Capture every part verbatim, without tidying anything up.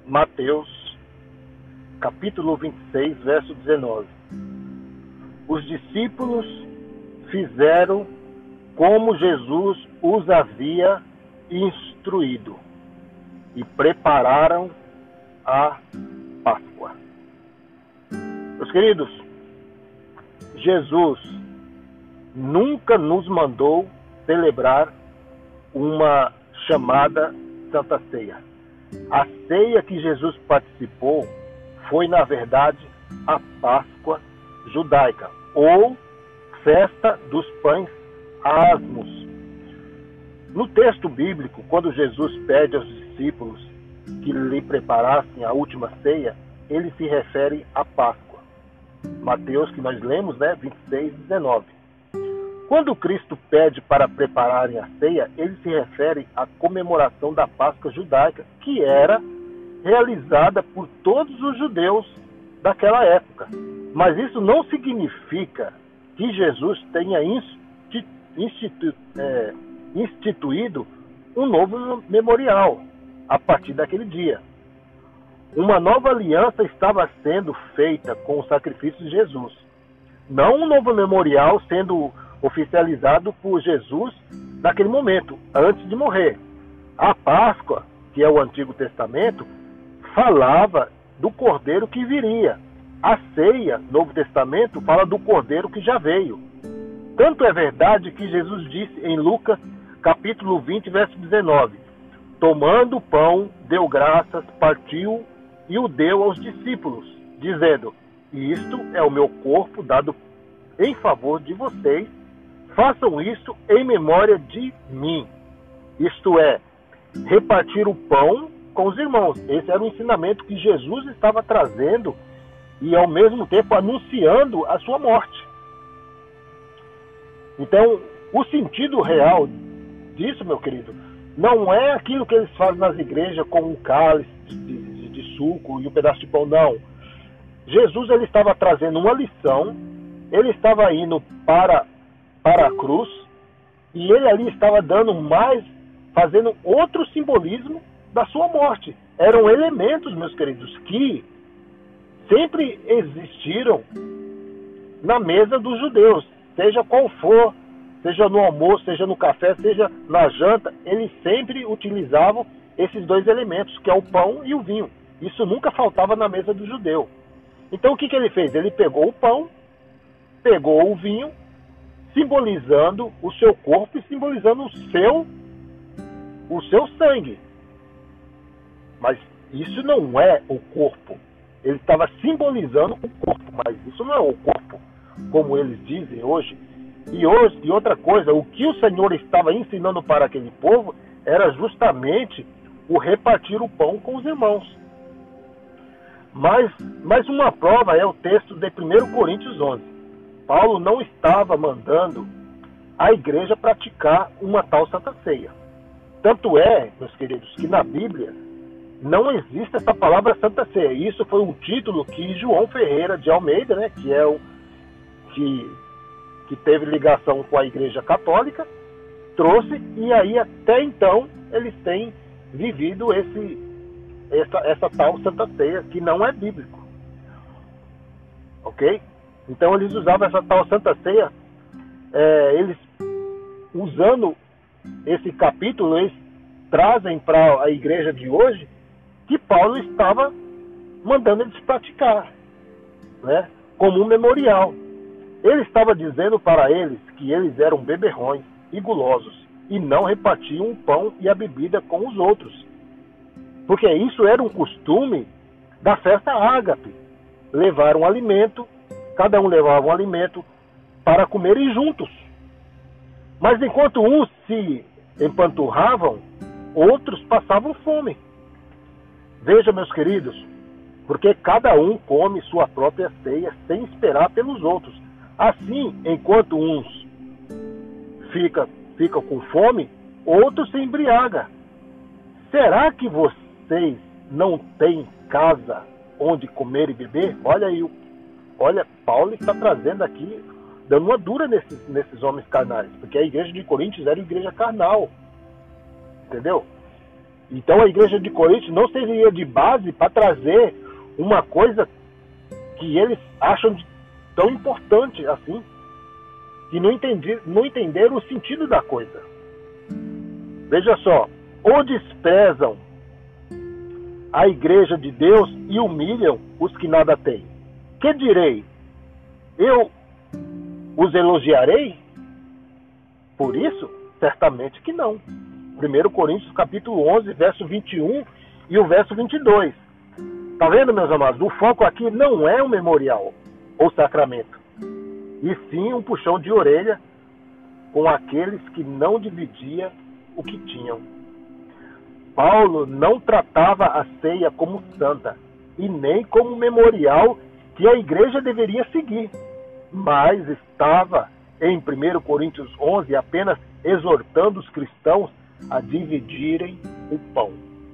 Mateus, capítulo vinte e seis, verso dezenove. Os discípulos fizeram como Jesus os havia instruído e prepararam a Páscoa. Meus queridos, Jesus nunca nos mandou celebrar uma chamada Santa Ceia. A ceia que Jesus participou foi, na verdade, a Páscoa judaica, ou Festa dos Pães Asmos. No texto bíblico, quando Jesus pede aos discípulos que lhe preparassem a última ceia, ele se refere à Páscoa. Mateus, que nós lemos, né, vinte e seis, dezenove. Quando Cristo pede para prepararem a ceia, ele se refere à comemoração da Páscoa judaica, que era realizada por todos os judeus daquela época. Mas isso não significa que Jesus tenha institu é, instituído um novo memorial a partir daquele dia. Uma nova aliança estava sendo feita com o sacrifício de Jesus. Não um novo memorial sendo oficializado por Jesus naquele momento, antes de morrer. A Páscoa, que é o Antigo Testamento, falava do Cordeiro que viria. A ceia, Novo Testamento, fala do Cordeiro que já veio. Tanto é verdade que Jesus disse em Lucas, capítulo vinte, verso dezenove, tomando o pão, deu graças, partiu e o deu aos discípulos, dizendo, isto é o meu corpo dado em favor de vocês, façam isso em memória de mim. Isto é, repartir o pão com os irmãos. Esse era o ensinamento que Jesus estava trazendo e, ao mesmo tempo, anunciando a sua morte. Então, o sentido real disso, meu querido, não é aquilo que eles fazem nas igrejas com um cálice de, de, de suco e um pedaço de pão, não. Jesus ele estava trazendo uma lição, ele estava indo para, para a cruz, e ele ali estava dando mais, fazendo outro simbolismo da sua morte. Eram elementos, meus queridos, que sempre existiram na mesa dos judeus, seja qual for, seja no almoço, seja no café, seja na janta, eles sempre utilizavam esses dois elementos, que é o pão e o vinho. Isso nunca faltava na mesa do judeu. Então o que, que ele fez? Ele pegou o pão, pegou o vinho, simbolizando o seu corpo e simbolizando o seu, o seu sangue. Mas isso não é o corpo. Ele estava simbolizando o corpo, mas isso não é o corpo, como eles dizem hoje. E, hoje, e outra coisa, o que o Senhor estava ensinando para aquele povo era justamente o repartir o pão com os irmãos. Mas, mas uma prova é o texto de primeiro Coríntios onze. Paulo não estava mandando a igreja praticar uma tal Santa Ceia. Tanto é, meus queridos, que na Bíblia não existe essa palavra Santa Ceia. Isso foi um título que João Ferreira de Almeida, né, que é o que, que teve ligação com a Igreja Católica, trouxe, e aí até então eles têm vivido esse, essa, essa tal Santa Ceia, que não é bíblico. Ok? Então eles usavam essa tal Santa Ceia, é, eles usando esse capítulo, eles trazem para a igreja de hoje que Paulo estava mandando eles praticar, né, como um memorial. Ele estava dizendo para eles que eles eram beberrões e gulosos e não repartiam o pão e a bebida com os outros, porque isso era um costume da festa ágape. Levar um alimento, cada um levava um alimento para comerem juntos. Mas enquanto uns se empanturravam, outros passavam fome. Veja, meus queridos, porque cada um come sua própria ceia sem esperar pelos outros. Assim, enquanto uns ficam, ficam com fome, outros se embriagam. Será que vocês não têm casa onde comer e beber? Olha aí, olha, Paulo está trazendo aqui, dando uma dura nesses, nesses homens carnais, porque a igreja de Coríntios era uma igreja carnal, entendeu? Então a igreja de Corinto não serviria de base para trazer uma coisa que eles acham de tão importante assim, que não, entendi, não entenderam o sentido da coisa. Veja só, ou desprezam a igreja de Deus e humilham os que nada têm. Que direi? Eu os elogiarei? Por isso, certamente que não. primeiro Coríntios capítulo onze, verso vinte e um e o verso vinte e dois. Tá vendo, meus amados? O foco aqui não é o memorial ou sacramento, e sim um puxão de orelha com aqueles que não dividiam o que tinham. Paulo não tratava a ceia como santa e nem como memorial que a igreja deveria seguir, mas estava em primeiro Coríntios onze apenas exortando os cristãos a dividirem o pão.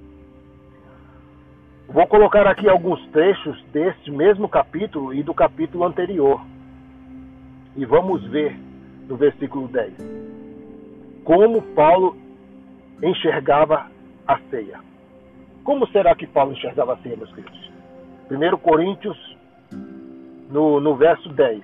Vou colocar aqui alguns trechos deste mesmo capítulo e do capítulo anterior. E vamos ver no versículo dez como Paulo enxergava a ceia. Como será que Paulo enxergava a ceia, meus queridos? primeiro Coríntios, no, no verso dez.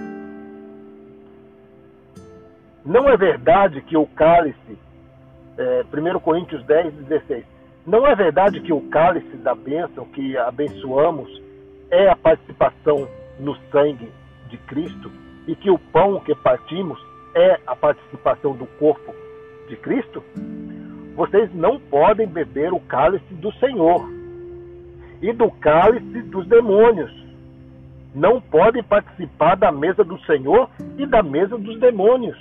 Não é verdade que o cálice, é, primeiro Coríntios dez, dezesseis, não é verdade que o cálice da bênção que abençoamos é a participação no sangue de Cristo e que o pão que partimos é a participação do corpo de Cristo? Vocês não podem beber o cálice do Senhor e do cálice dos demônios. Não podem participar da mesa do Senhor e da mesa dos demônios.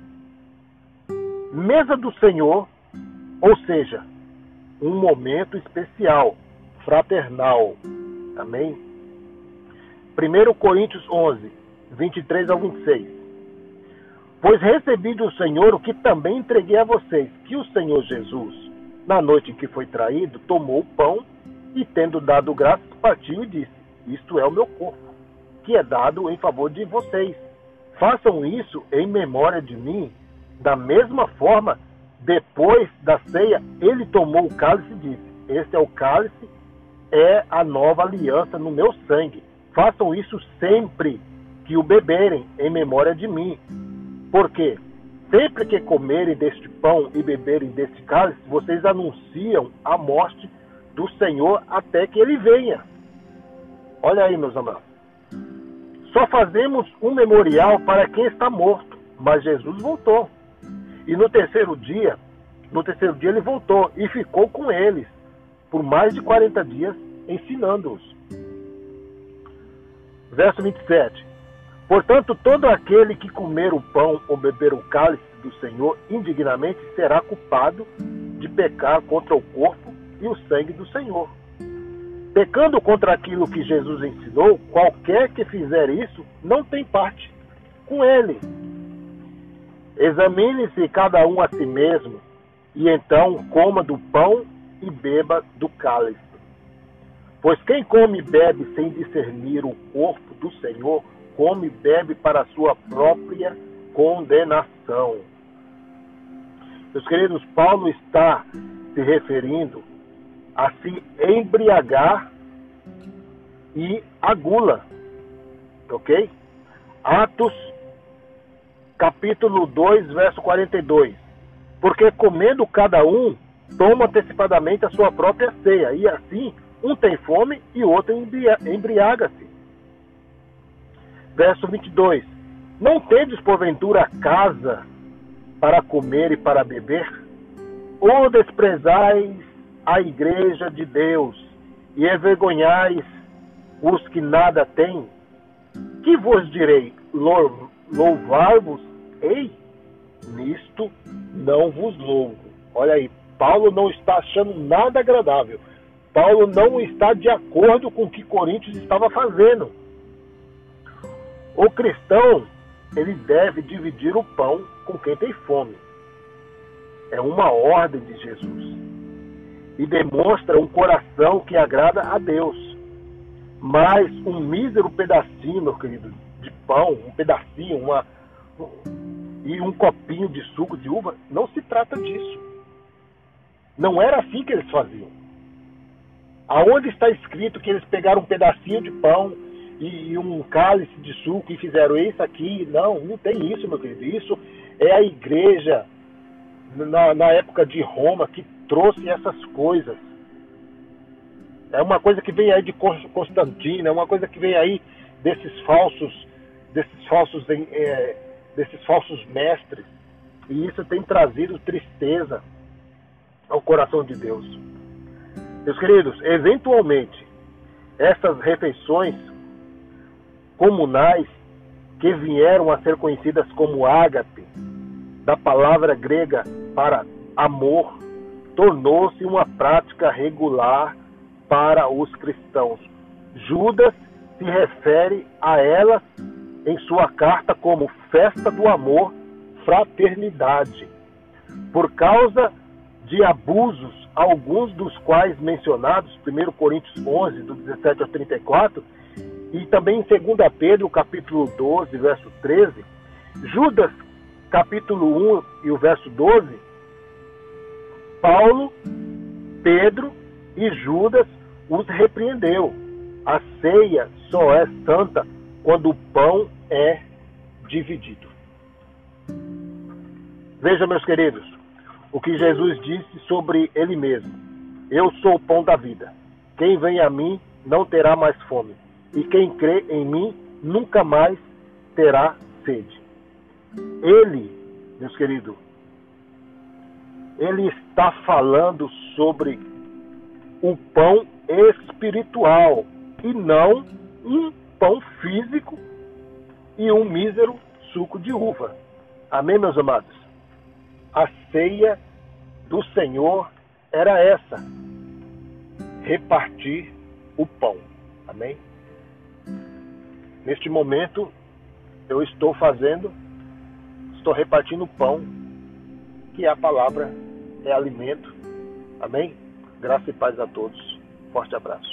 Mesa do Senhor, ou seja, um momento especial, fraternal. Amém? primeiro Coríntios onze, vinte e três ao vinte e seis. Pois recebi do Senhor o que também entreguei a vocês, que o Senhor Jesus, na noite em que foi traído, tomou o pão e, tendo dado graças, partiu e disse: isto é o meu corpo, que é dado em favor de vocês. Façam isso em memória de mim. Da mesma forma, depois da ceia, ele tomou o cálice e disse: este é o cálice, é a nova aliança no meu sangue. Façam isso sempre que o beberem, em memória de mim. Porque sempre que comerem deste pão e beberem deste cálice, vocês anunciam a morte do Senhor até que ele venha. Olha aí, meus amados. Só fazemos um memorial para quem está morto, mas Jesus voltou. E no terceiro dia, no terceiro dia ele voltou e ficou com eles por mais de quarenta dias, ensinando-os. Verso vinte e sete. Portanto, todo aquele que comer o pão ou beber o cálice do Senhor indignamente será culpado de pecar contra o corpo e o sangue do Senhor. Pecando contra aquilo que Jesus ensinou, qualquer que fizer isso não tem parte com ele. Examine-se cada um a si mesmo, e então coma do pão e beba do cálice. Pois quem come e bebe sem discernir o corpo do Senhor, come e bebe para a sua própria condenação. Meus queridos, Paulo está se referindo a se embriagar e a gula. Ok? Atos, capítulo dois, verso quarenta e dois. Porque comendo cada um, toma antecipadamente a sua própria ceia, e assim um tem fome e o outro embriaga-se. Verso vinte e dois. Não tendes porventura casa para comer e para beber? Ou desprezais a igreja de Deus e envergonhais os que nada têm? Que vos direi? Louvar-vos? Ei, nisto não vos louvo. Olha aí, Paulo não está achando nada agradável. Paulo não está de acordo com o que Coríntios estava fazendo. O cristão, ele deve dividir o pão com quem tem fome. É uma ordem de Jesus. E demonstra um coração que agrada a Deus. Mas um mísero pedacinho, meu querido, de pão, um pedacinho, uma, e um copinho de suco de uva, não se trata disso. Não era assim que eles faziam. Aonde está escrito que eles pegaram um pedacinho de pão e um cálice de suco e fizeram isso aqui? Não, não tem isso, meu querido. Isso é a igreja, na, na época de Roma, que trouxe essas coisas. É uma coisa que vem aí de Constantino, é uma coisa que vem aí desses falsos, desses falsos, é, desses falsos mestres. E isso tem trazido tristeza ao coração de Deus. Meus queridos, eventualmente, essas refeições comunais que vieram a ser conhecidas como ágape, da palavra grega para amor, tornou-se uma prática regular para os cristãos. Judas se refere a elas em sua carta como festa do amor, fraternidade. Por causa de abusos, alguns dos quais mencionados, primeiro Coríntios onze, do dezessete ao trinta e quatro, e também em segunda Pedro, capítulo doze, verso treze, Judas, capítulo um e o verso doze, Paulo, Pedro e Judas os repreendeu. A ceia só é santa quando o pão é dividido. Veja, meus queridos, o que Jesus disse sobre ele mesmo. Eu sou o pão da vida. Quem vem a mim não terá mais fome. E quem crê em mim nunca mais terá sede. Ele, meus queridos, ele está falando sobre o pão espiritual e não um pão físico e um mísero suco de uva. Amém, meus amados? A ceia do Senhor era essa: repartir o pão. Amém? Neste momento, eu estou fazendo, estou repartindo o pão, que é a palavra, é alimento. Amém? Graça e paz a todos. Forte abraço.